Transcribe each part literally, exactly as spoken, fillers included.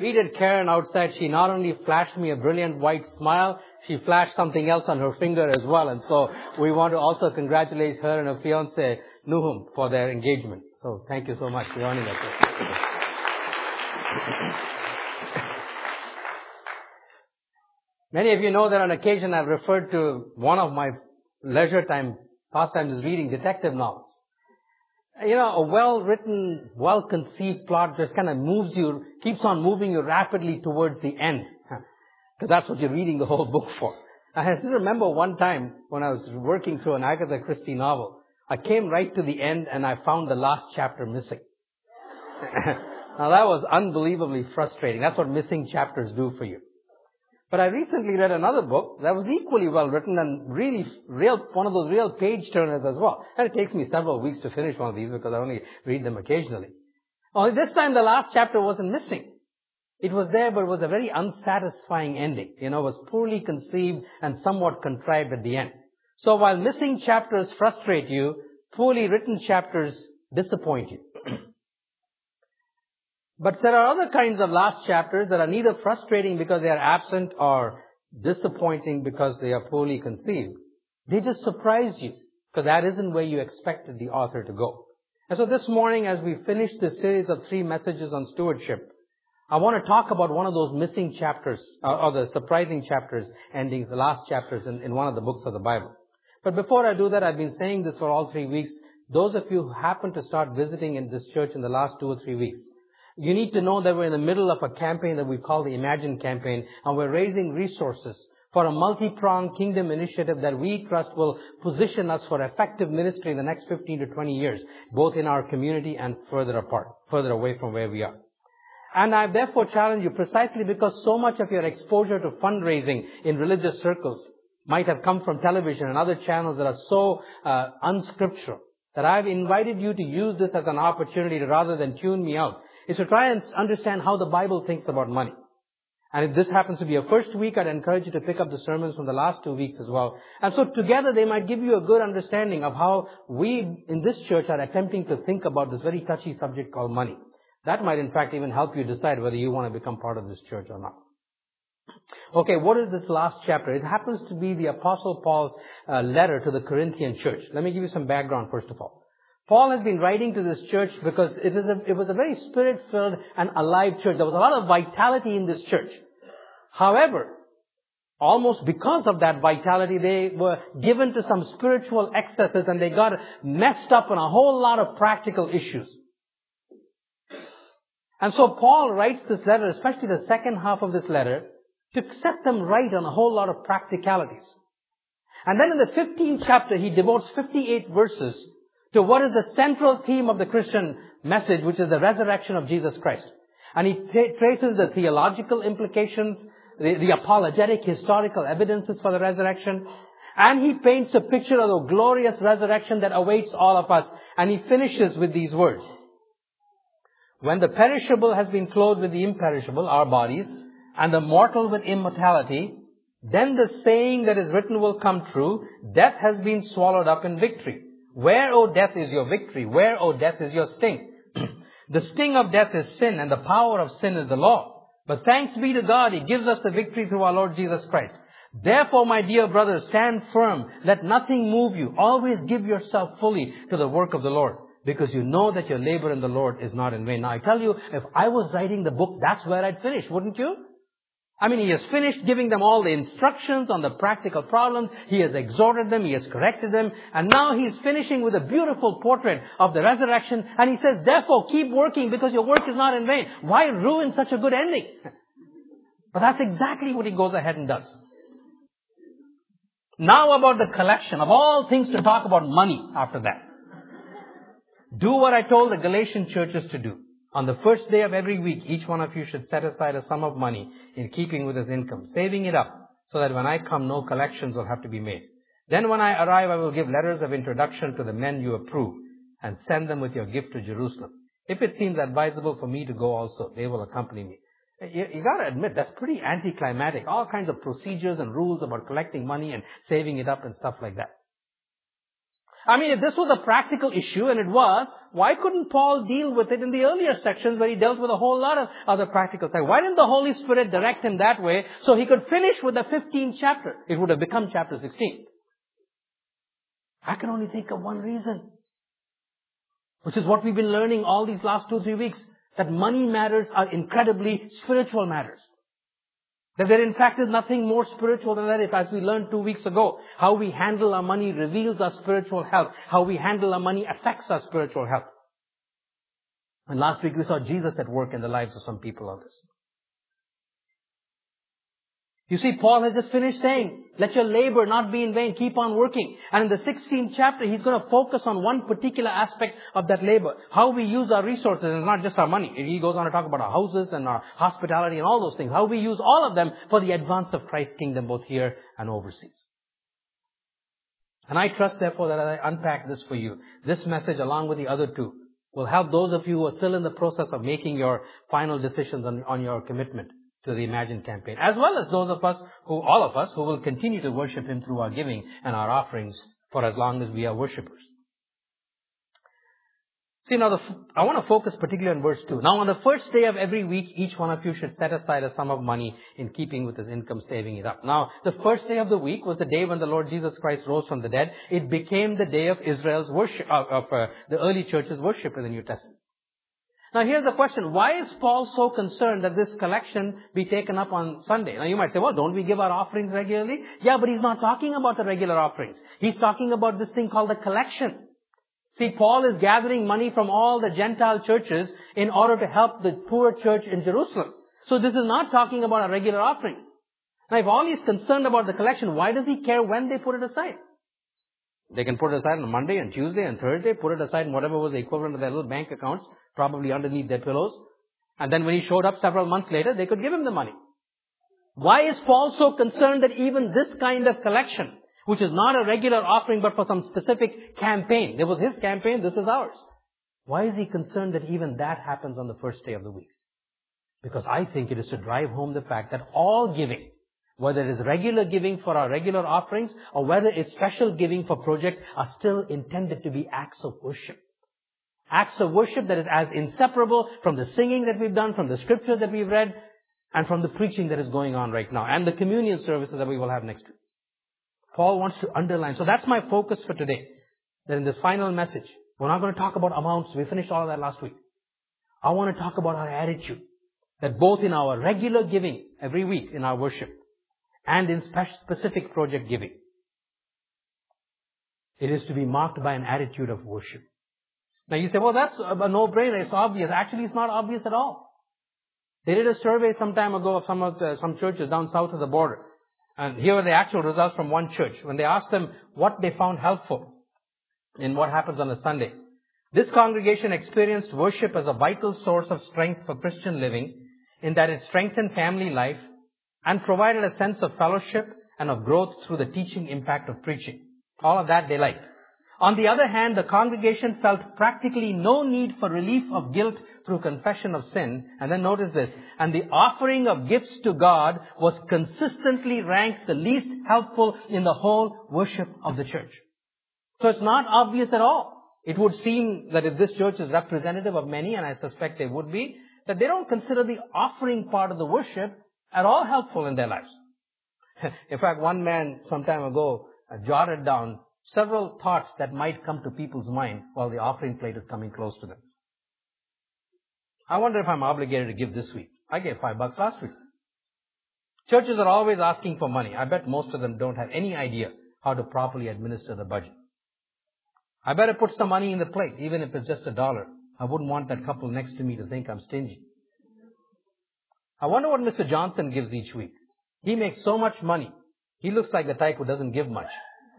greeted Karen outside, she not only flashed me a brilliant white smile, she flashed something else on her finger as well. And so we want to also congratulate her and her fiancé, Nuhum, for their engagement. So thank you so much for joining us. Many of you know that on occasion I've referred to one of my leisure time pastimes is reading detective novels. You know, a well-written, well-conceived plot just kind of moves you, keeps on moving you rapidly towards the end. Because that's what you're reading the whole book for. I still remember one time when I was working through an Agatha Christie novel, I came right to the end and I found the last chapter missing. Now that was unbelievably frustrating. That's what missing chapters do for you. But I recently read another book that was equally well written and really real, one of those real page turners as well. And it takes me several weeks to finish one of these because I only read them occasionally. Only this time the last chapter wasn't missing. It was there, but it was a very unsatisfying ending. You know, it was poorly conceived and somewhat contrived at the end. So while missing chapters frustrate you, poorly written chapters disappoint you. But there are other kinds of last chapters that are neither frustrating because they are absent or disappointing because they are poorly conceived. They just surprise you because that isn't where you expected the author to go. And so this morning, as we finish this series of three messages on stewardship, I want to talk about one of those missing chapters, uh, or the surprising chapters, endings, the last chapters in, in one of the books of the Bible. But before I do that, I've been saying this for all three weeks. Those of you who happen to start visiting in this church in the last two or three weeks, you need to know that we're in the middle of a campaign that we call the Imagine campaign, and we're raising resources for a multi-pronged kingdom initiative that we trust will position us for effective ministry in the next fifteen to twenty years, both in our community and further apart, further away from where we are. And I therefore challenge you, precisely because so much of your exposure to fundraising in religious circles might have come from television and other channels that are so uh, unscriptural, that I've invited you to use this as an opportunity to, rather than tune me out, is to try and understand how the Bible thinks about money. And if this happens to be a first week, I'd encourage you to pick up the sermons from the last two weeks as well. And so together they might give you a good understanding of how we in this church are attempting to think about this very touchy subject called money. That might in fact even help you decide whether you want to become part of this church or not. Okay, what is this last chapter? It happens to be the Apostle Paul's uh, letter to the Corinthian church. Let me give you some background first of all. Paul has been writing to this church because it, is a, it was a very spirit-filled and alive church. There was a lot of vitality in this church. However, almost because of that vitality, they were given to some spiritual excesses and they got messed up on a whole lot of practical issues. And so Paul writes this letter, especially the second half of this letter, to set them right on a whole lot of practicalities. And then in the fifteenth chapter, he devotes fifty-eight verses to what is the central theme of the Christian message, which is the resurrection of Jesus Christ. And he tra- traces the theological implications, the, the apologetic historical evidences for the resurrection, and he paints a picture of the glorious resurrection that awaits all of us. And he finishes with these words. When the perishable has been clothed with the imperishable, our bodies, and the mortal with immortality, then the saying that is written will come true, death has been swallowed up in victory. Where, O death, is your victory? Where, O death, is your sting? The sting of death is sin, and the power of sin is the law. But thanks be to God, He gives us the victory through our Lord Jesus Christ. Therefore, my dear brothers, stand firm. Let nothing move you. Always give yourself fully to the work of the Lord, because you know that your labor in the Lord is not in vain. Now, I tell you, if I was writing the book, that's where I'd finish, wouldn't you? I mean, he has finished giving them all the instructions on the practical problems. He has exhorted them. He has corrected them. And now he's finishing with a beautiful portrait of the resurrection. And he says, therefore, keep working because your work is not in vain. Why ruin such a good ending? But that's exactly what he goes ahead and does. Now about the collection. Of all things to talk about money after that. Do what I told the Galatian churches to do. On the first day of every week, each one of you should set aside a sum of money in keeping with his income, saving it up so that when I come, no collections will have to be made. Then when I arrive, I will give letters of introduction to the men you approve and send them with your gift to Jerusalem. If it seems advisable for me to go also, they will accompany me. You, you got to admit, that's pretty anticlimactic. All kinds of procedures and rules about collecting money and saving it up and stuff like that. I mean, if this was a practical issue, and it was, why couldn't Paul deal with it in the earlier sections where he dealt with a whole lot of other practical things? Why didn't the Holy Spirit direct him that way so he could finish with the fifteenth chapter? It would have become chapter sixteen. I can only think of one reason, which is what we've been learning all these last two, three weeks, that money matters are incredibly spiritual matters. That there in fact is nothing more spiritual than that. If, as we learned two weeks ago, how we handle our money reveals our spiritual health. How we handle our money affects our spiritual health. And last week we saw Jesus at work in the lives of some people on this. You see, Paul has just finished saying, let your labor not be in vain, keep on working. And in the sixteenth chapter, he's going to focus on one particular aspect of that labor. How we use our resources, and not just our money. He goes on to talk about our houses and our hospitality and all those things. How we use all of them for the advance of Christ's kingdom, both here and overseas. And I trust, therefore, that as I unpack this for you, this message, along with the other two, will help those of you who are still in the process of making your final decisions on, on your commitment to the Imagine campaign, as well as those of us who, all of us, who will continue to worship Him through our giving and our offerings for as long as we are worshippers. See, now, the, I want to focus particularly on verse two. Now, on the first day of every week, each one of you should set aside a sum of money in keeping with his income, saving it up. Now, the first day of the week was the day when the Lord Jesus Christ rose from the dead. It became the day of Israel's worship, of, of uh, the early church's worship in the New Testament. Now, here's the question. Why is Paul so concerned that this collection be taken up on Sunday? Now, you might say, well, don't we give our offerings regularly? Yeah, but he's not talking about the regular offerings. He's talking about this thing called the collection. See, Paul is gathering money from all the Gentile churches in order to help the poor church in Jerusalem. So this is not talking about our regular offerings. Now, if all he's concerned about the collection, why does he care when they put it aside? They can put it aside on Monday and Tuesday and Thursday, put it aside in whatever was the equivalent of their little bank accounts, probably underneath their pillows. And then when he showed up several months later, they could give him the money. Why is Paul so concerned that even this kind of collection, which is not a regular offering but for some specific campaign, there was his campaign, this is ours. Why is he concerned that even that happens on the first day of the week? Because I think it is to drive home the fact that all giving, whether it is regular giving for our regular offerings or whether it's special giving for projects, are still intended to be acts of worship. Acts of worship that is as inseparable from the singing that we've done, from the scriptures that we've read, and from the preaching that is going on right now, and the communion services that we will have next week. Paul wants to underline. So that's my focus for today. That in this final message, we're not going to talk about amounts. We finished all of that last week. I want to talk about our attitude. That both in our regular giving every week in our worship and in specific project giving, it is to be marked by an attitude of worship. Now you say, well, that's a no-brainer. It's obvious. Actually, it's not obvious at all. They did a survey some time ago of some of the, some churches down south of the border. And here are the actual results from one church. When they asked them what they found helpful in what happens on a Sunday. This congregation experienced worship as a vital source of strength for Christian living, in that it strengthened family life and provided a sense of fellowship and of growth through the teaching impact of preaching. All of that they liked. On the other hand, the congregation felt practically no need for relief of guilt through confession of sin. And then notice this. And the offering of gifts to God was consistently ranked the least helpful in the whole worship of the church. So it's not obvious at all. It would seem that if this church is representative of many, and I suspect they would be, that they don't consider the offering part of the worship at all helpful in their lives. In fact, one man some time ago uh, jotted down several thoughts that might come to people's mind while the offering plate is coming close to them. I wonder if I'm obligated to give this week. I gave five bucks last week. Churches are always asking for money. I bet most of them don't have any idea how to properly administer the budget. I better put some money in the plate, even if it's just a dollar. I wouldn't want that couple next to me to think I'm stingy. I wonder what Mister Johnson gives each week. He makes so much money. He looks like the type who doesn't give much.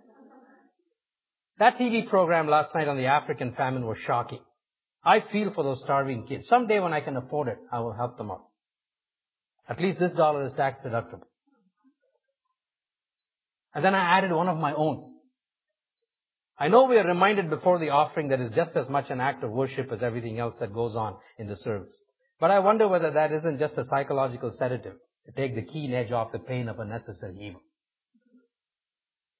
That T V program last night on the African famine was shocking. I feel for those starving kids. Someday when I can afford it, I will help them out. At least this dollar is tax deductible. And then I added one of my own. I know we are reminded before the offering that it's just as much an act of worship as everything else that goes on in the service. But I wonder whether that isn't just a psychological sedative to take the keen edge off the pain of a necessary evil.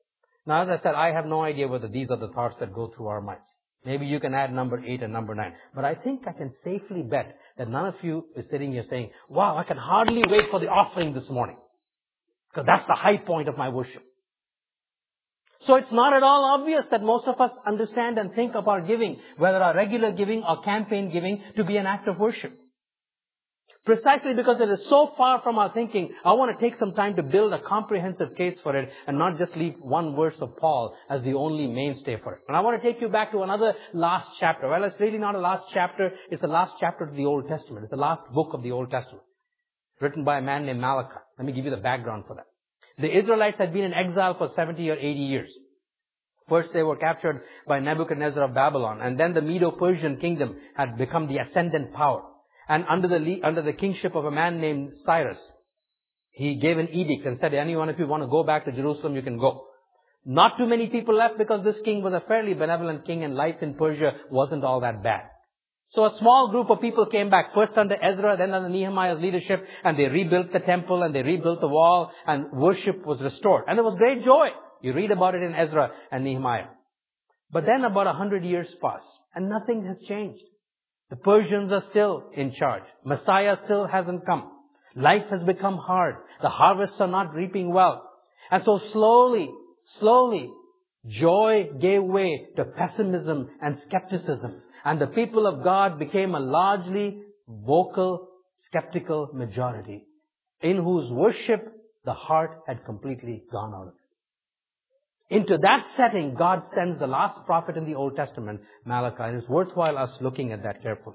Now, as I said, I have no idea whether these are the thoughts that go through our minds. Maybe you can add number eight and number nine. But I think I can safely bet that none of you is sitting here saying, wow, I can hardly wait for the offering this morning. Because that's the high point of my worship. So it's not at all obvious that most of us understand and think of our giving, whether our regular giving or campaign giving, to be an act of worship. Precisely because it is so far from our thinking, I want to take some time to build a comprehensive case for it and not just leave one verse of Paul as the only mainstay for it. And I want to take you back to another last chapter. Well, it's really not a last chapter. It's the last chapter of the Old Testament. It's the last book of the Old Testament, written by a man named Malachi. Let me give you the background for that. The Israelites had been in exile for seventy or eighty years. First, they were captured by Nebuchadnezzar of Babylon, and then the Medo-Persian kingdom had become the ascendant power. And under the under the kingship of a man named Cyrus, he gave an edict and said, anyone, if you want to go back to Jerusalem, you can go. Not too many people left because this king was a fairly benevolent king and life in Persia wasn't all that bad. So a small group of people came back, first under Ezra, then under Nehemiah's leadership, and they rebuilt the temple and they rebuilt the wall, and worship was restored. And there was great joy. You read about it in Ezra and Nehemiah. But then about a hundred years pass, and nothing has changed. The Persians are still in charge. Messiah still hasn't come. Life has become hard. The harvests are not reaping well. And so slowly, slowly, joy gave way to pessimism and skepticism. And the people of God became a largely vocal, skeptical majority in whose worship the heart had completely gone out of it. Into that setting, God sends the last prophet in the Old Testament, Malachi, and it's worthwhile us looking at that carefully.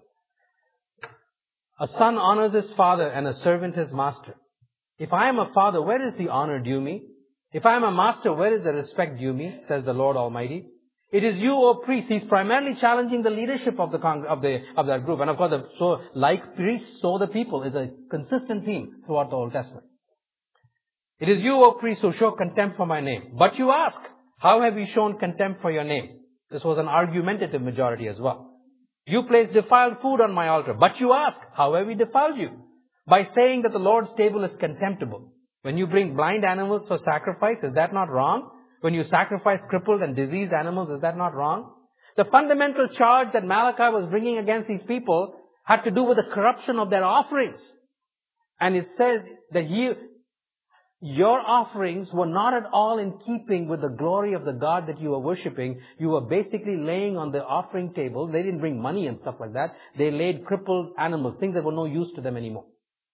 A son honors his father and a servant his master. If I am a father, where is the honor due me? If I am a master, where is the respect due me? Says the Lord Almighty. It is you, O priests. He's primarily challenging the leadership of the con- of the of that group, and of course, the, so like priests, so the people is a consistent theme throughout the Old Testament. It is you, O priests, who show contempt for my name. But you ask, how have you shown contempt for your name? This was an argumentative majority as well. You place defiled food on my altar. But you ask, how have we defiled you? By saying that the Lord's table is contemptible. When you bring blind animals for sacrifice, is that not wrong? When you sacrifice crippled and diseased animals, is that not wrong? The fundamental charge that Malachi was bringing against these people had to do with the corruption of their offerings. And it says that he, your offerings were not at all in keeping with the glory of the God that you were worshipping. You were basically laying on the offering table. They didn't bring money and stuff like that. They laid crippled animals, things that were no use to them anymore.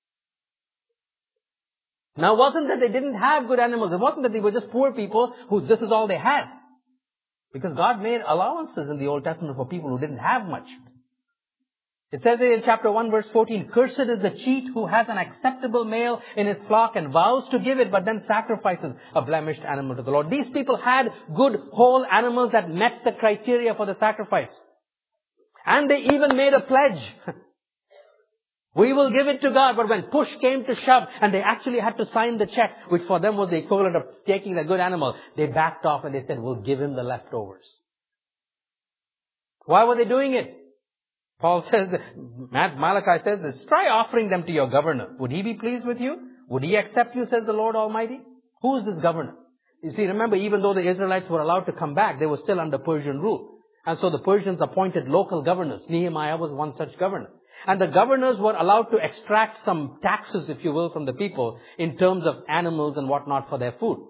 Now, it wasn't that they didn't have good animals. It wasn't that they were just poor people who this is all they had. Because God made allowances in the Old Testament for people who didn't have much. It says in chapter one verse fourteen, cursed is the cheat who has an acceptable male in his flock and vows to give it, but then sacrifices a blemished animal to the Lord. These people had good whole animals that met the criteria for the sacrifice. And they even made a pledge. We will give it to God. But when push came to shove and they actually had to sign the check, which for them was the equivalent of taking the good animal, they backed off and they said, we'll give him the leftovers. Why were they doing it? Paul says, that, Malachi says this, try offering them to your governor. Would he be pleased with you? Would he accept you, says the Lord Almighty? Who is this governor? You see, remember, even though the Israelites were allowed to come back, they were still under Persian rule. And so the Persians appointed local governors. Nehemiah was one such governor. And the governors were allowed to extract some taxes, if you will, from the people in terms of animals and whatnot for their food.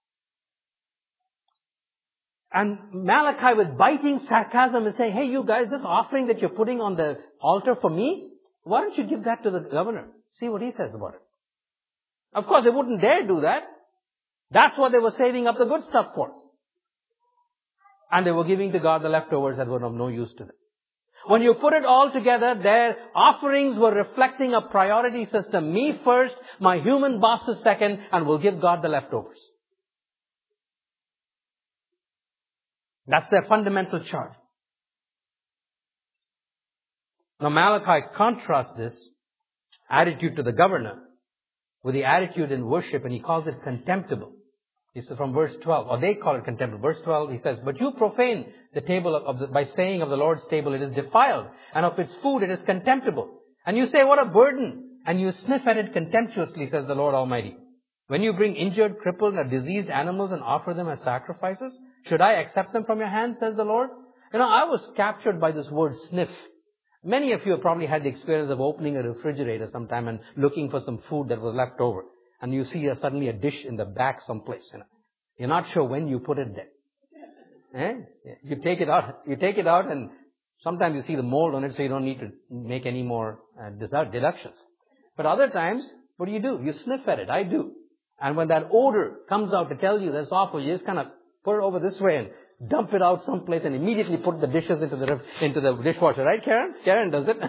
And Malachi, with biting sarcasm, is saying, hey, you guys, this offering that you're putting on the altar for me, why don't you give that to the governor? See what he says about it. Of course, they wouldn't dare do that. That's what they were saving up the good stuff for. And they were giving to God the leftovers that were of no use to them. When you put it all together, their offerings were reflecting a priority system. Me first, my human bosses second, and we'll give God the leftovers. That's their fundamental charge. Now Malachi contrasts this attitude to the governor with the attitude in worship, and he calls it contemptible. It's from verse twelve, or they call it contemptible. Verse twelve, he says, but you profane the table of, of the, by saying of the Lord's table, it is defiled, and of its food it is contemptible. And you say, what a burden! And you sniff at it contemptuously, says the Lord Almighty. When you bring injured, crippled, or diseased animals and offer them as sacrifices, should I accept them from your hand, says the Lord? You know, I was captured by this word sniff. Many of you have probably had the experience of opening a refrigerator sometime and looking for some food that was left over. And you see uh, suddenly a dish in the back someplace. You know. You're not sure when you put it there. Eh? You take it out, you take it out and sometimes you see the mold on it, so you don't need to make any more uh, deductions. But other times, what do you do? You sniff at it. I do. And when that odor comes out to tell you that's awful, you just kind of put it over this way and dump it out someplace and immediately put the dishes into the into the dishwasher. Right, Karen? Karen does it.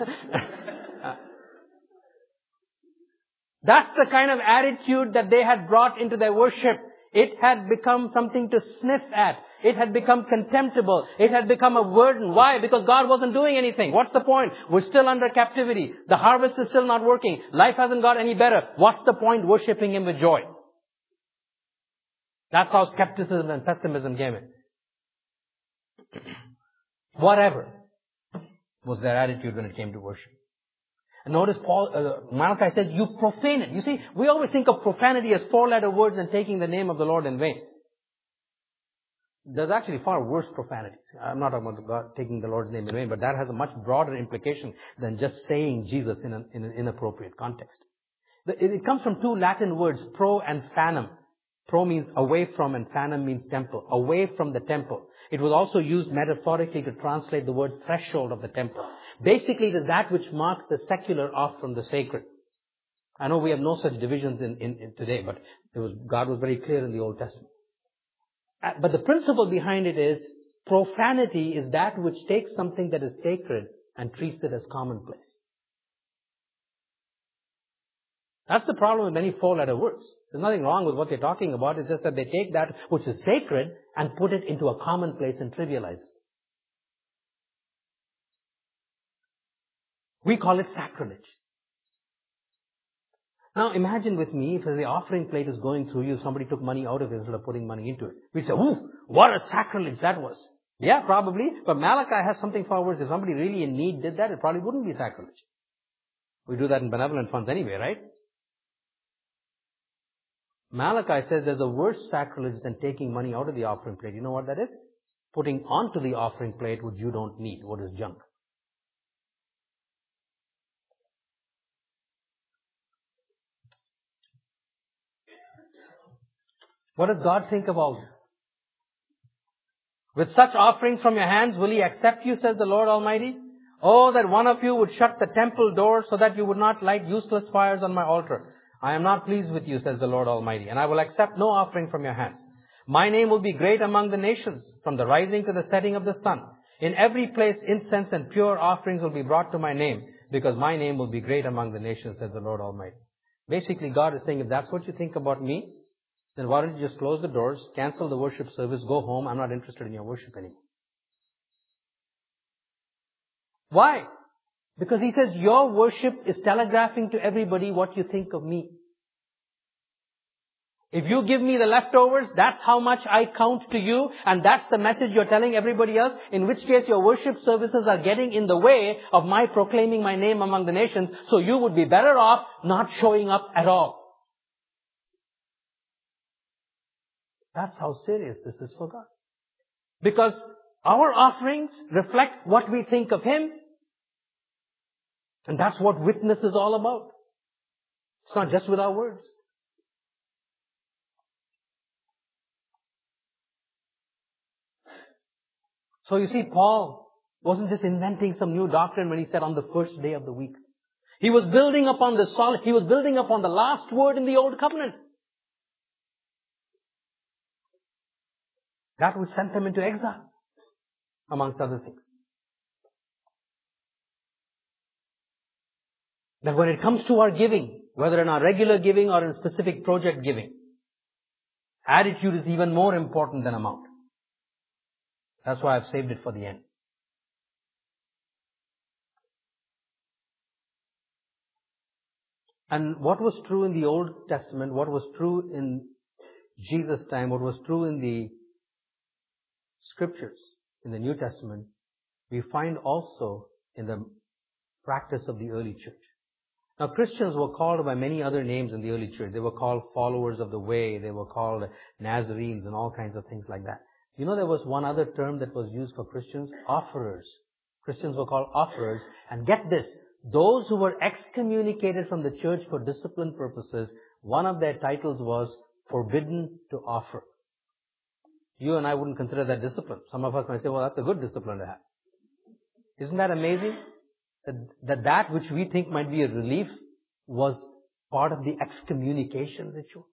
That's the kind of attitude that they had brought into their worship. It had become something to sniff at. It had become contemptible. It had become a burden. Why? Because God wasn't doing anything. What's the point? We're still under captivity. The harvest is still not working. Life hasn't got any better. What's the point worshiping Him with joy? That's how skepticism and pessimism came in. Whatever was their attitude when it came to worship. And notice Paul, uh, Malachi says, you profane it. You see, we always think of profanity as four-letter words and taking the name of the Lord in vain. There's actually far worse profanities. I'm not talking about God taking the Lord's name in vain, but that has a much broader implication than just saying Jesus in an, in an inappropriate context. The, it, it comes from two Latin words, pro and fanum. Pro means away from and fanum means temple. Away from the temple. It was also used metaphorically to translate the word threshold of the temple. Basically, it is that which marks the secular off from the sacred. I know we have no such divisions in, in, in today, but it was, God was very clear in the Old Testament. Uh, but the principle behind it is profanity is that which takes something that is sacred and treats it as commonplace. That's the problem with many four-letter words. There's nothing wrong with what they're talking about. It's just that they take that which is sacred and put it into a commonplace and trivialize it. We call it sacrilege. Now imagine with me, if the offering plate is going through you, somebody took money out of it instead of putting money into it. We'd say, ooh, what a sacrilege that was. Yeah, probably. But Malachi has something far worse. If somebody really in need did that, it probably wouldn't be sacrilege. We do that in benevolent funds anyway, right? Malachi says there's a worse sacrilege than taking money out of the offering plate. You know what that is? Putting onto the offering plate what you don't need, what is junk. What does God think of all this? With such offerings from your hands, will He accept you, says the Lord Almighty? Oh, that one of you would shut the temple door so that you would not light useless fires on my altar. I am not pleased with you, says the Lord Almighty, and I will accept no offering from your hands. My name will be great among the nations, from the rising to the setting of the sun. In every place incense and pure offerings will be brought to my name, because my name will be great among the nations, says the Lord Almighty. Basically, God is saying, if that's what you think about me, then why don't you just close the doors, cancel the worship service, go home. I'm not interested in your worship anymore. Why? Because He says your worship is telegraphing to everybody what you think of me. If you give me the leftovers, that's how much I count to you, and that's the message you're telling everybody else, in which case your worship services are getting in the way of my proclaiming my name among the nations, so you would be better off not showing up at all. That's how serious this is for God. Because our offerings reflect what we think of Him. And that's what witness is all about. It's not just with our words. So you see, Paul wasn't just inventing some new doctrine when he said on the first day of the week. He was building upon the solid, he was building upon the last word in the Old Covenant. That would send them into exile, amongst other things. That when it comes to our giving, whether in our regular giving or in specific project giving, attitude is even more important than amount. That's why I've saved it for the end. And what was true in the Old Testament, what was true in Jesus' time, what was true in the Scriptures, in the New Testament, we find also in the practice of the early church. Now, Christians were called by many other names in the early church. They were called followers of the way. They were called Nazarenes and all kinds of things like that. You know, there was one other term that was used for Christians, offerers. Christians were called offerers. And get this, those who were excommunicated from the church for discipline purposes, one of their titles was forbidden to offer. You and I wouldn't consider that discipline. Some of us might say, well, that's a good discipline to have. Isn't that amazing? That, that that which we think might be a relief was part of the excommunication ritual.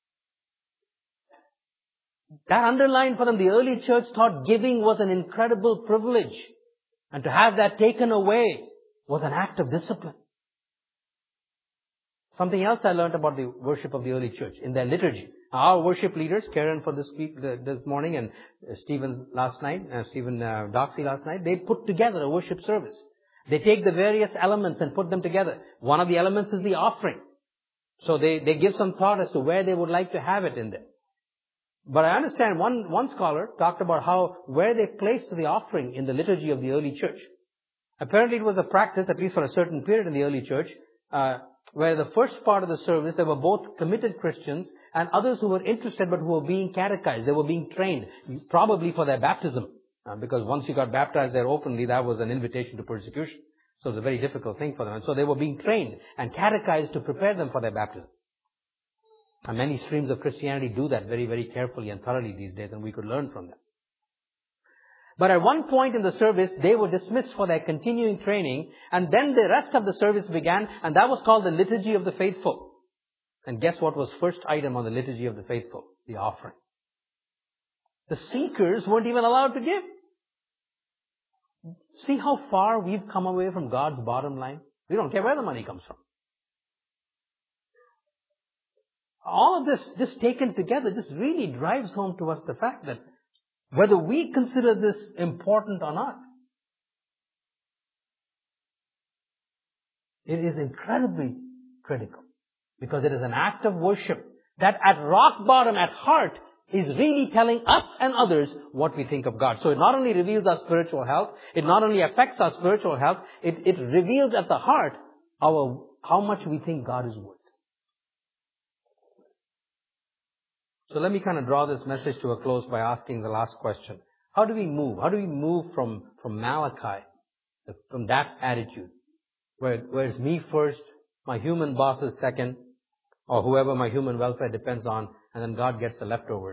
That underlined for them, the early church thought giving was an incredible privilege. And to have that taken away was an act of discipline. Something else I learned about the worship of the early church in their liturgy. Our worship leaders, Karen for this week, this morning, and Stephen last night, uh, Stephen uh, Doxey last night, they put together a worship service. They take the various elements and put them together. One of the elements is the offering. So they, they give some thought as to where they would like to have it in there. But I understand one, one scholar talked about how, where they placed the offering in the liturgy of the early church. Apparently it was a practice, at least for a certain period in the early church, uh, where the first part of the service, there were both committed Christians and others who were interested but who were being catechized. They were being trained, probably for their baptism. Uh, because once you got baptized there openly, that was an invitation to persecution. So it was a very difficult thing for them. And so they were being trained and catechized to prepare them for their baptism. And many streams of Christianity do that very, very carefully and thoroughly these days, and we could learn from them. But at one point in the service, they were dismissed for their continuing training, and then the rest of the service began, and that was called the Liturgy of the Faithful. And guess what was first item on the Liturgy of the Faithful? The offering. The seekers weren't even allowed to give. See how far we've come away from God's bottom line? We don't care where the money comes from. All of this, just taken together, just really drives home to us the fact that whether we consider this important or not, it is incredibly critical. Because it is an act of worship that at rock bottom, at heart, is really telling us and others what we think of God. So it not only reveals our spiritual health, it not only affects our spiritual health, it, it reveals at the heart our how much we think God is worth. So let me kind of draw this message to a close by asking the last question. How do we move? How do we move from, from Malachi, from that attitude, where, where it's me first, my human boss is second, or whoever my human welfare depends on, and then God gets the leftovers,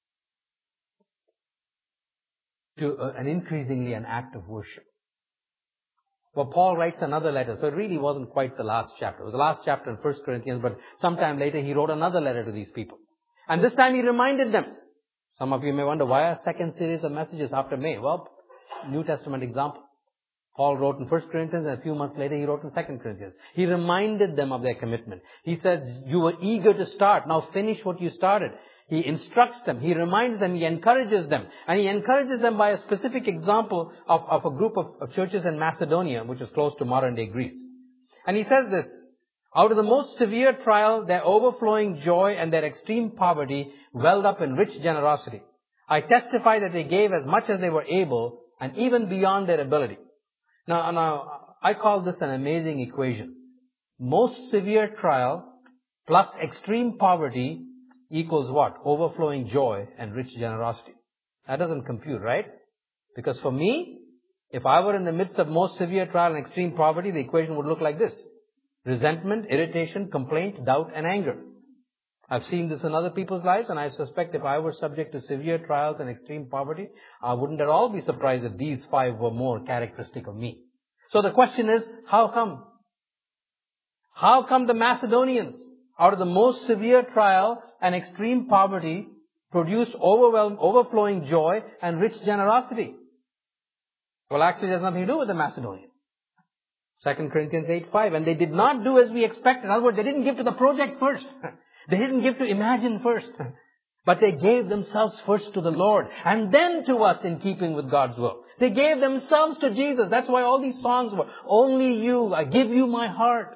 to uh, an increasingly an act of worship. Well, Paul writes another letter, so it really wasn't quite the last chapter. It was the last chapter in First Corinthians, but sometime later he wrote another letter to these people. And this time he reminded them. Some of you may wonder, why a second series of messages after May? Well, New Testament example. Paul wrote in First Corinthians, and a few months later he wrote in Second Corinthians. He reminded them of their commitment. He said, you were eager to start, now finish what you started. He instructs them, he reminds them, he encourages them. And he encourages them by a specific example of, of a group of, of churches in Macedonia, which is close to modern day Greece. And he says this, out of the most severe trial, their overflowing joy and their extreme poverty welled up in rich generosity. I testify that they gave as much as they were able and even beyond their ability. Now, now, I call this an amazing equation. Most severe trial plus extreme poverty equals what? Overflowing joy and rich generosity. That doesn't compute, right? Because for me, if I were in the midst of most severe trial and extreme poverty, the equation would look like this. Resentment, irritation, complaint, doubt, and anger. I've seen this in other people's lives, and I suspect if I were subject to severe trials and extreme poverty, I wouldn't at all be surprised if these five were more characteristic of me. So the question is, how come? How come the Macedonians, out of the most severe trial and extreme poverty, produced overwhelming, overflowing joy and rich generosity? Well, actually, it has nothing to do with the Macedonians. Second Corinthians eight five. And they did not do as we expected. In other words, they didn't give to the project first. They didn't give to Imagine first. But they gave themselves first to the Lord. And then to us in keeping with God's will. They gave themselves to Jesus. That's why all these songs were, only you, I give you my heart.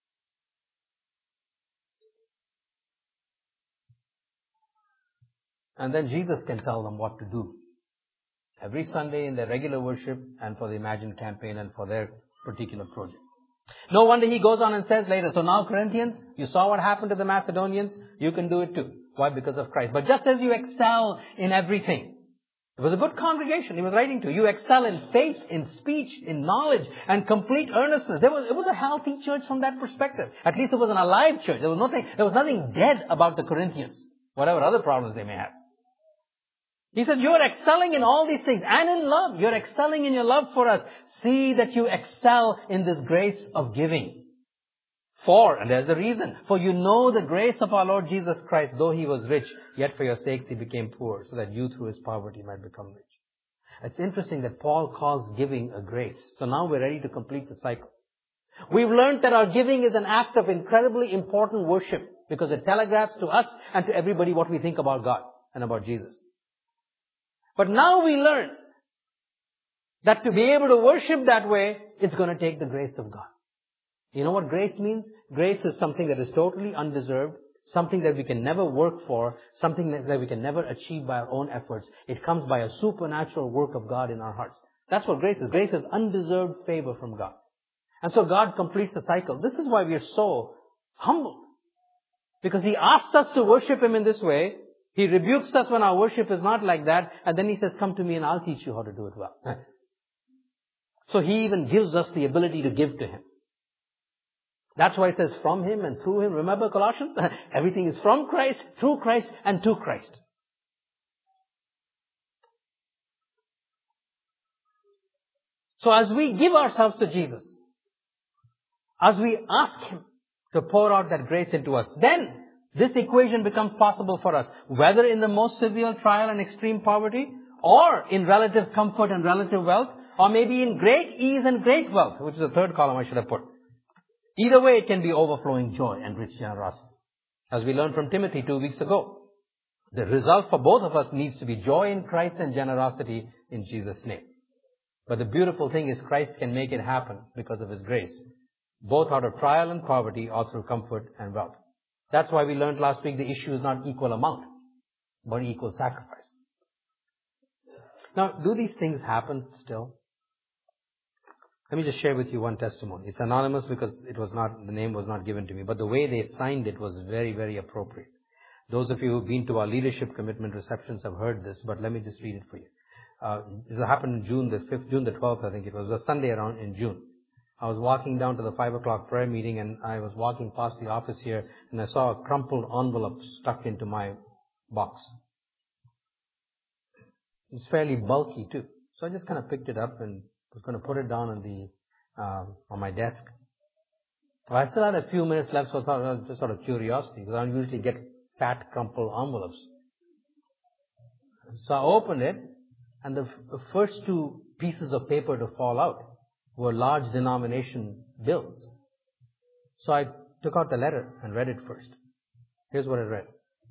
And then Jesus can tell them what to do. Every Sunday in their regular worship and for the Imagine campaign and for their particular project. No wonder he goes on and says later, so now Corinthians, you saw what happened to the Macedonians, you can do it too. Why? Because of Christ. But just as you excel in everything, it was a good congregation he was writing to. You excel in faith, in speech, in knowledge, and complete earnestness. There was, it was a healthy church from that perspective. At least it was an alive church. There was nothing, there was nothing dead about the Corinthians, whatever other problems they may have. He said, you're excelling in all these things and in love. You're excelling in your love for us. See that you excel in this grace of giving. For, and there's a reason, for you know the grace of our Lord Jesus Christ, though he was rich, yet for your sakes he became poor, so that you through his poverty might become rich. It's interesting that Paul calls giving a grace. So now we're ready to complete the cycle. We've learned that our giving is an act of incredibly important worship, because it telegraphs to us and to everybody what we think about God and about Jesus. But now we learn that to be able to worship that way, it's going to take the grace of God. You know what grace means? Grace is something that is totally undeserved, something that we can never work for, something that we can never achieve by our own efforts. It comes by a supernatural work of God in our hearts. That's what grace is. Grace is undeserved favor from God. And so God completes the cycle. This is why we are so humbled. Because He asks us to worship Him in this way. He rebukes us when our worship is not like that. And then He says, come to me and I'll teach you how to do it well. So He even gives us the ability to give to Him. That's why it says from Him and through Him. Remember Colossians? Everything is from Christ, through Christ, and to Christ. So as we give ourselves to Jesus, as we ask Him to pour out that grace into us, then this equation becomes possible for us. Whether in the most severe trial and extreme poverty, or in relative comfort and relative wealth, or maybe in great ease and great wealth, which is the third column I should have put. Either way, it can be overflowing joy and rich generosity. As we learned from Timothy two weeks ago, the result for both of us needs to be joy in Christ and generosity in Jesus' name. But the beautiful thing is Christ can make it happen because of His grace, both out of trial and poverty or through comfort and wealth. That's why we learned last week the issue is not equal amount, but equal sacrifice. Now, do these things happen still? Let me just share with you one testimony. It's anonymous because it was not, the name was not given to me, but the way they signed it was very, very appropriate. Those of you who've been to our leadership commitment receptions have heard this, but let me just read it for you. Uh, it happened June the fifth, June the twelfth, I think it was, a Sunday around in June. I was walking down to the five o'clock prayer meeting and I was walking past the office here and I saw a crumpled envelope stuck into my box. It's fairly bulky too. So I just kind of picked it up and was going to put it down on the um, on my desk. Well, I still had a few minutes left, so I thought, well, just sort of curiosity, because I don't usually get fat, crumpled envelopes. So I opened it, and the, f- the first two pieces of paper to fall out were large denomination bills. So I took out the letter and read it first. Here's what I read.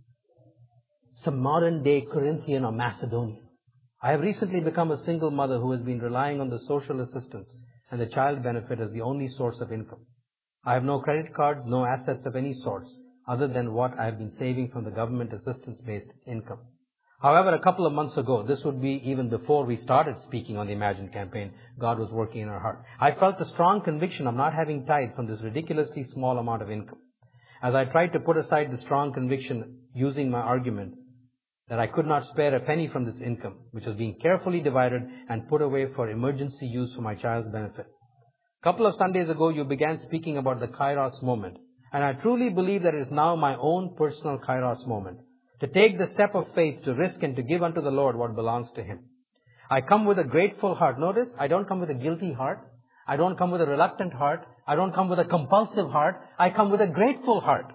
Some modern day Corinthian or Macedonian. I have recently become a single mother who has been relying on the social assistance and the child benefit as the only source of income. I have no credit cards, no assets of any sorts, other than what I have been saving from the government assistance-based income. However, a couple of months ago, this would be even before we started speaking on the Imagine campaign, God was working in our heart. I felt a strong conviction of not having tithe from this ridiculously small amount of income. As I tried to put aside the strong conviction using my argument that I could not spare a penny from this income, which was being carefully divided and put away for emergency use for my child's benefit. A couple of Sundays ago, you began speaking about the Kairos moment, and I truly believe that it is now my own personal Kairos moment, to take the step of faith, to risk and to give unto the Lord what belongs to Him. I come with a grateful heart. Notice, I don't come with a guilty heart. I don't come with a reluctant heart. I don't come with a compulsive heart. I come with a grateful heart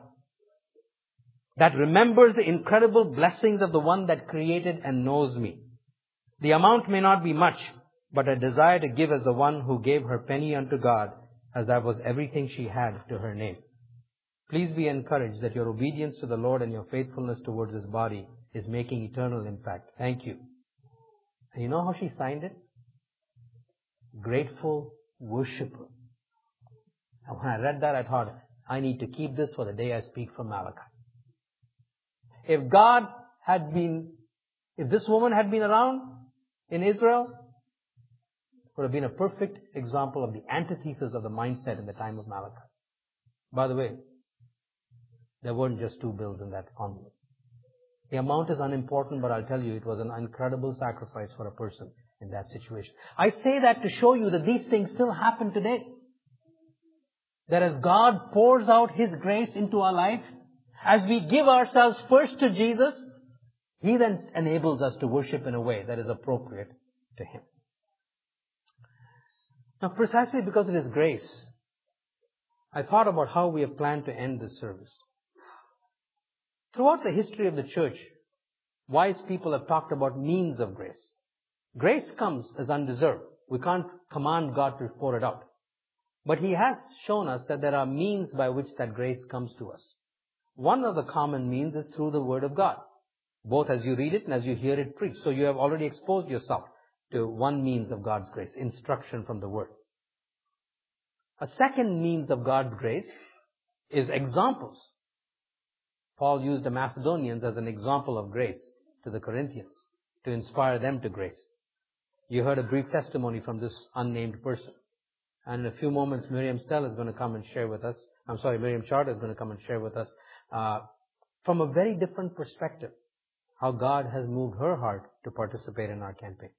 that remembers the incredible blessings of the one that created and knows me. The amount may not be much, but I desire to give as the one who gave her penny unto God, as that was everything she had to her name. Please be encouraged that your obedience to the Lord and your faithfulness towards His body is making eternal impact. Thank you. And you know how she signed it? Grateful worshiper. And when I read that, I thought, I need to keep this for the day I speak from Malachi. If God had been, if this woman had been around in Israel, would have been a perfect example of the antithesis of the mindset in the time of Malachi. By the way, there weren't just two bills in that envelope. The amount is unimportant, but I'll tell you, it was an incredible sacrifice for a person in that situation. I say that to show you that these things still happen today. That as God pours out His grace into our life, as we give ourselves first to Jesus, He then enables us to worship in a way that is appropriate to Him. Now, precisely because it is grace, I thought about how we have planned to end this service. Throughout the history of the church, wise people have talked about means of grace. Grace comes as undeserved. We can't command God to pour it out. But He has shown us that there are means by which that grace comes to us. One of the common means is through the Word of God, both as you read it and as you hear it preached. So you have already exposed yourself to one means of God's grace, instruction from the Word. A second means of God's grace is examples. Paul used the Macedonians as an example of grace to the Corinthians to inspire them to grace. You heard a brief testimony from this unnamed person. And in a few moments, Miriam Stell is going to come and share with us. I'm sorry, Miriam Charter is going to come and share with us uh, from a very different perspective how God has moved her heart to participate in our campaign.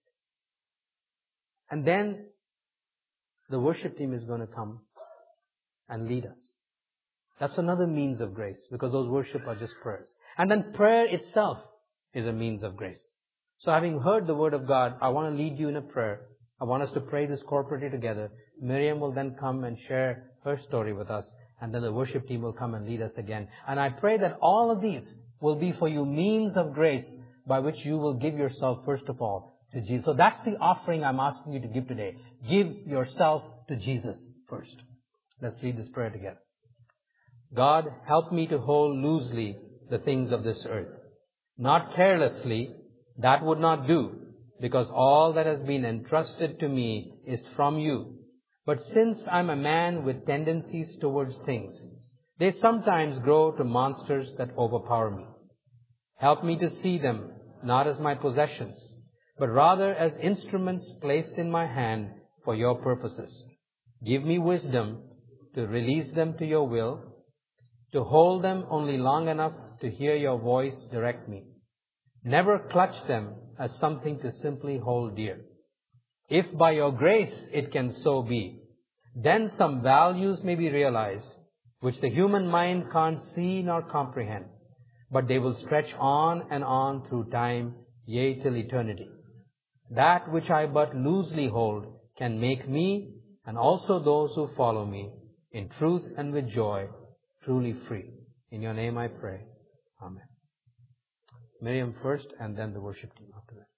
And then the worship team is going to come and lead us. That's another means of grace, because those worship are just prayers. And then prayer itself is a means of grace. So having heard the Word of God, I want to lead you in a prayer. I want us to pray this corporately together. Miriam will then come and share her story with us, and then the worship team will come and lead us again. And I pray that all of these will be for you means of grace by which you will give yourself first of all to Jesus. So that's the offering I'm asking you to give today. Give yourself to Jesus first. Let's read this prayer together. God, help me to hold loosely the things of this earth. Not carelessly, that would not do, because all that has been entrusted to me is from you. But since I'm a man with tendencies towards things, they sometimes grow to monsters that overpower me. Help me to see them not as my possessions, but rather as instruments placed in my hand for your purposes. Give me wisdom to release them to your will, to hold them only long enough to hear your voice direct me. Never clutch them as something to simply hold dear. If by your grace it can so be, then some values may be realized which the human mind can't see nor comprehend, but they will stretch on and on through time, yea, till eternity. That which I but loosely hold can make me, and also those who follow me, in truth and with joy, truly free. In your name I pray. Amen. Miriam first, and then the worship team after that.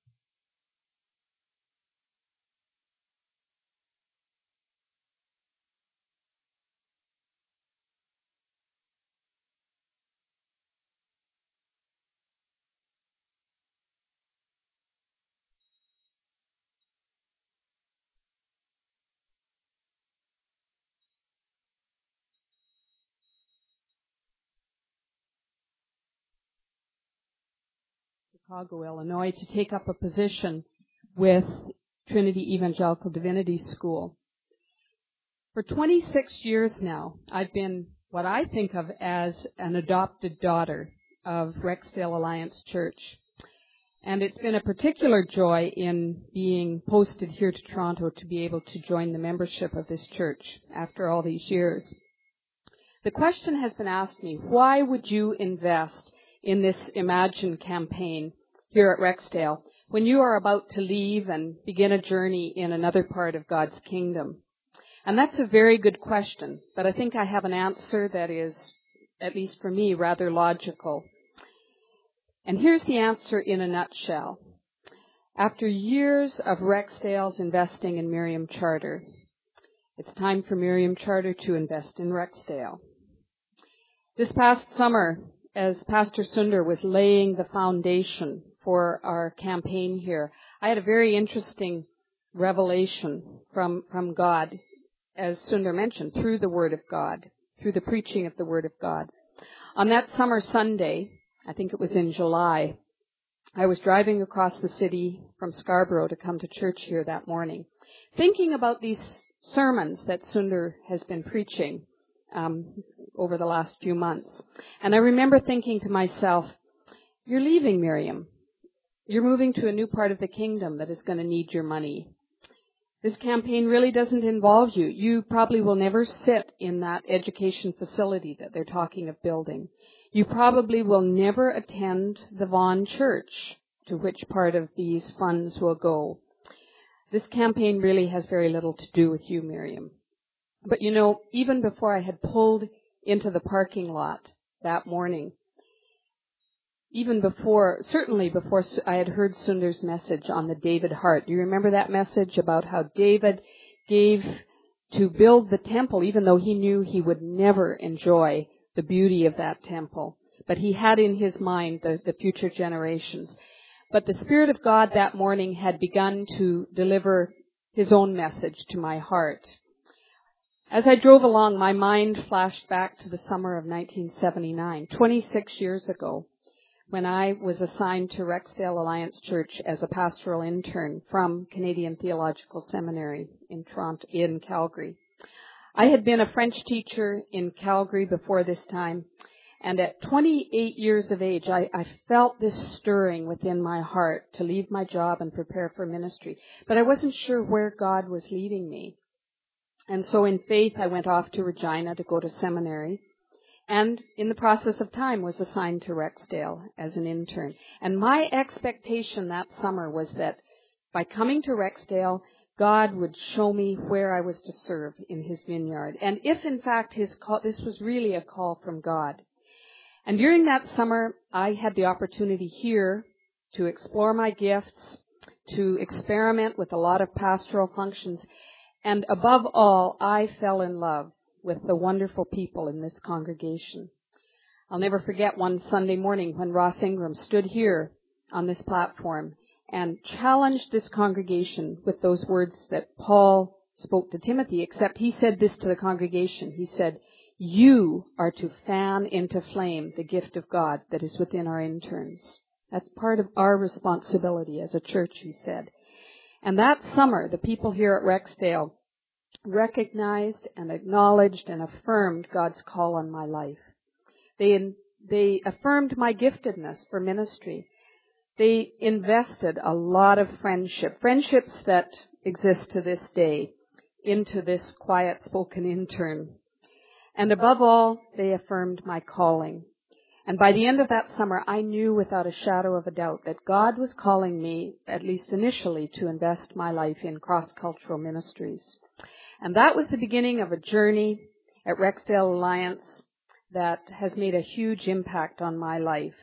Chicago, Illinois, to take up a position with Trinity Evangelical Divinity School. For twenty-six years now, I've been what I think of as an adopted daughter of Rexdale Alliance Church. And it's been a particular joy in being posted here to Toronto to be able to join the membership of this church after all these years. The question has been asked me, why would you invest in this Imagine campaign here at Rexdale when you are about to leave and begin a journey in another part of God's kingdom? And that's a very good question, but I think I have an answer that is, at least for me, rather logical. And here's the answer in a nutshell. After years of Rexdale's investing in Miriam Charter, it's time for Miriam Charter to invest in Rexdale. This past summer, as Pastor Sunder was laying the foundation for our campaign here, I had a very interesting revelation from, from God, as Sunder mentioned, through the Word of God, through the preaching of the Word of God. On that summer Sunday, I think it was in July, I was driving across the city from Scarborough to come to church here that morning. thinking about these sermons that Sundar has been preaching um, over the last few months. And I remember thinking to myself, you're leaving, Miriam. You're moving to a new part of the kingdom that is going to need your money. This campaign really doesn't involve you. You probably will never sit in that education facility that they're talking of building. You probably will never attend the Vaughan Church, to which part of these funds will go. This campaign really has very little to do with you, Miriam. But you know, even before I had pulled into the parking lot that morning, even before, certainly before I had heard Sundar's message on the David heart. Do you remember that message about how David gave to build the temple, even though he knew he would never enjoy the beauty of that temple? But he had in his mind the, the future generations. But the Spirit of God that morning had begun to deliver his own message to my heart. As I drove along, my mind flashed back to the summer of nineteen seventy-nine, twenty-six years ago, when I was assigned to Rexdale Alliance Church as a pastoral intern from Canadian Theological Seminary in Toronto, in Calgary. I had been a French teacher in Calgary before this time, and at twenty-eight years of age, I, I felt this stirring within my heart to leave my job and prepare for ministry. But I wasn't sure where God was leading me. And so in faith, I went off to Regina to go to seminary. And in the process of time was assigned to Rexdale as an intern. And my expectation that summer was that by coming to Rexdale, God would show me where I was to serve in his vineyard. And if in fact his call, this was really a call from God. And during that summer, I had the opportunity here to explore my gifts, to experiment with a lot of pastoral functions. And above all, I fell in love with the wonderful people in this congregation. I'll never forget one Sunday morning when Ross Ingram stood here on this platform and challenged this congregation with those words that Paul spoke to Timothy, except he said this to the congregation. He said, you are to fan into flame the gift of God that is within our interns. That's part of our responsibility as a church, he said. And that summer, the people here at Rexdale recognized and acknowledged and affirmed God's call on my life. They, they affirmed my giftedness for ministry. They invested a lot of friendship, friendships that exist to this day, into this quiet-spoken intern. And above all, they affirmed my calling. And by the end of that summer, I knew without a shadow of a doubt that God was calling me, at least initially, to invest my life in cross-cultural ministries. And that was the beginning of a journey at Rexdale Alliance that has made a huge impact on my life.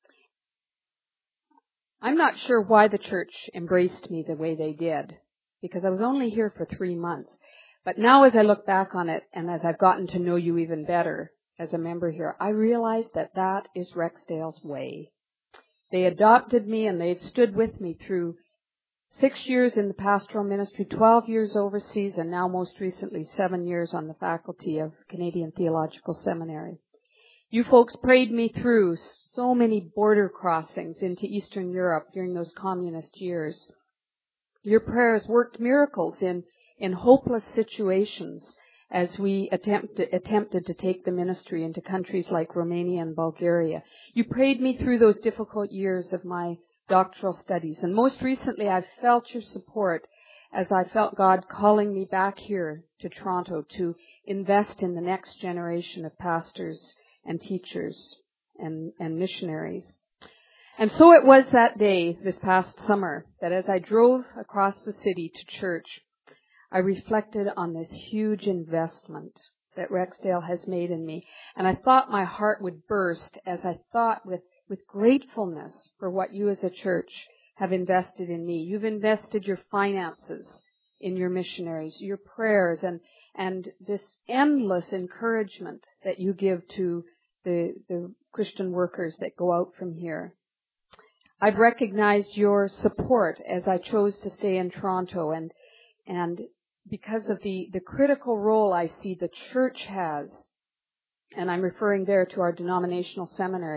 I'm not sure why the church embraced me the way they did, because I was only here for three months. But now as I look back on it, and as I've gotten to know you even better as a member here, I realize that that is Rexdale's way. They adopted me and they've stood with me through six years in the pastoral ministry, twelve years overseas, and now most recently seven years on the faculty of Canadian Theological Seminary. You folks prayed me through so many border crossings into Eastern Europe during those communist years. Your prayers worked miracles in, in hopeless situations as we attempted, attempted to take the ministry into countries like Romania and Bulgaria. You prayed me through those difficult years of my doctoral studies. And most recently, I've felt your support as I felt God calling me back here to Toronto to invest in the next generation of pastors and teachers and, and missionaries. And so it was that day, this past summer, that as I drove across the city to church, I reflected on this huge investment that Rexdale has made in me. And I thought my heart would burst as I thought with, with gratefulness for what you as a church have invested in me. You've invested your finances in your missionaries, your prayers, and, and this endless encouragement that you give to the, the Christian workers that go out from here. I've recognized your support as I chose to stay in Toronto, and and because of the, the critical role I see the church has, and I'm referring there to our denominational seminary,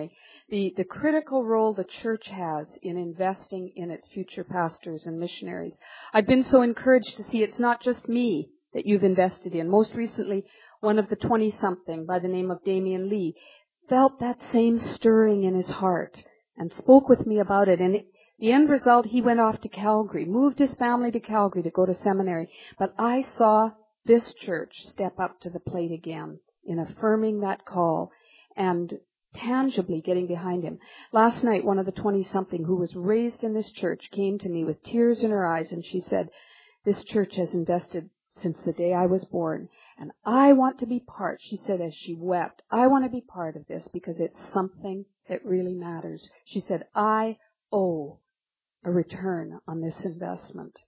the, the critical role the church has in investing in its future pastors and missionaries. I've been so encouraged to see it's not just me that you've invested in. Most recently, one of the twenty-something by the name of Damien Lee felt that same stirring in his heart and spoke with me about it. And it, the end result, he went off to Calgary, moved his family to Calgary to go to seminary. But I saw this church step up to the plate again in affirming that call and tangibly getting behind him. Last night, one of the twenty-something who was raised in this church came to me with tears in her eyes, and she said, "This church has invested since the day I was born, and I want to be part," she said as she wept, "I want to be part of this because it's something that really matters." She said, "I owe a return on this investment."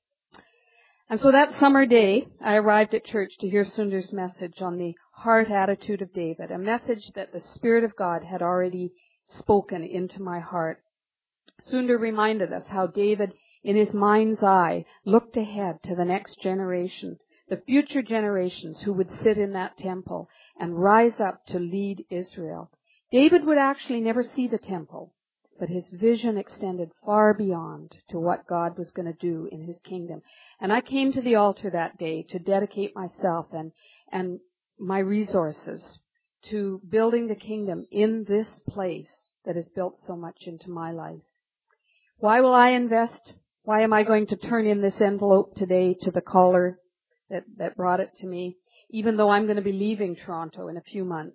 And so that summer day, I arrived at church to hear Sundar's message on the heart attitude of David, a message that the Spirit of God had already spoken into my heart. Sundar reminded us how David, in his mind's eye, looked ahead to the next generation, the future generations who would sit in that temple and rise up to lead Israel. David would actually never see the temple, but his vision extended far beyond to what God was going to do in his kingdom. And I came to the altar that day to dedicate myself and, and my resources to building the kingdom in this place that has built so much into my life. Why will I invest? Why am I going to turn in this envelope today to the caller that, that brought it to me, even though I'm going to be leaving Toronto in a few months?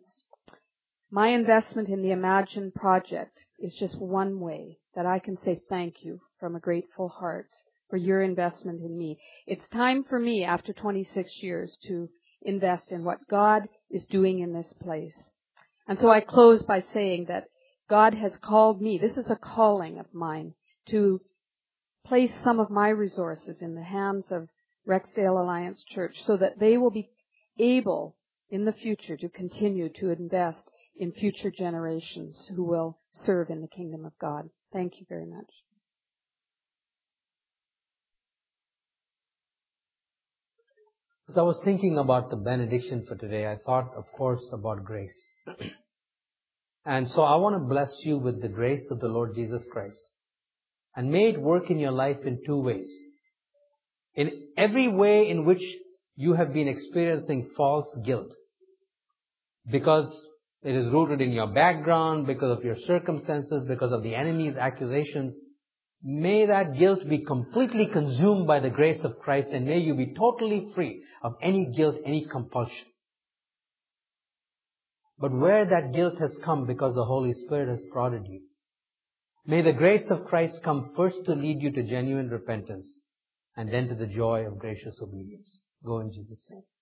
My investment in the Imagine project is just one way that I can say thank you from a grateful heart for your investment in me. It's time for me, after twenty-six years, to invest in what God is doing in this place. And so I close by saying that God has called me, this is a calling of mine, to place some of my resources in the hands of Rexdale Alliance Church so that they will be able in the future to continue to invest in future generations who will serve in the kingdom of God. Thank you very much. As I was thinking about the benediction for today, I thought, of course, about grace. And so I want to bless you with the grace of the Lord Jesus Christ. And may it work in your life in two ways. In every way in which you have been experiencing false guilt, because it is rooted in your background, because of your circumstances, because of the enemy's accusations, may that guilt be completely consumed by the grace of Christ, and may you be totally free of any guilt, any compulsion. But where that guilt has come because the Holy Spirit has prodded you, may the grace of Christ come first to lead you to genuine repentance and then to the joy of gracious obedience. Go in Jesus' name.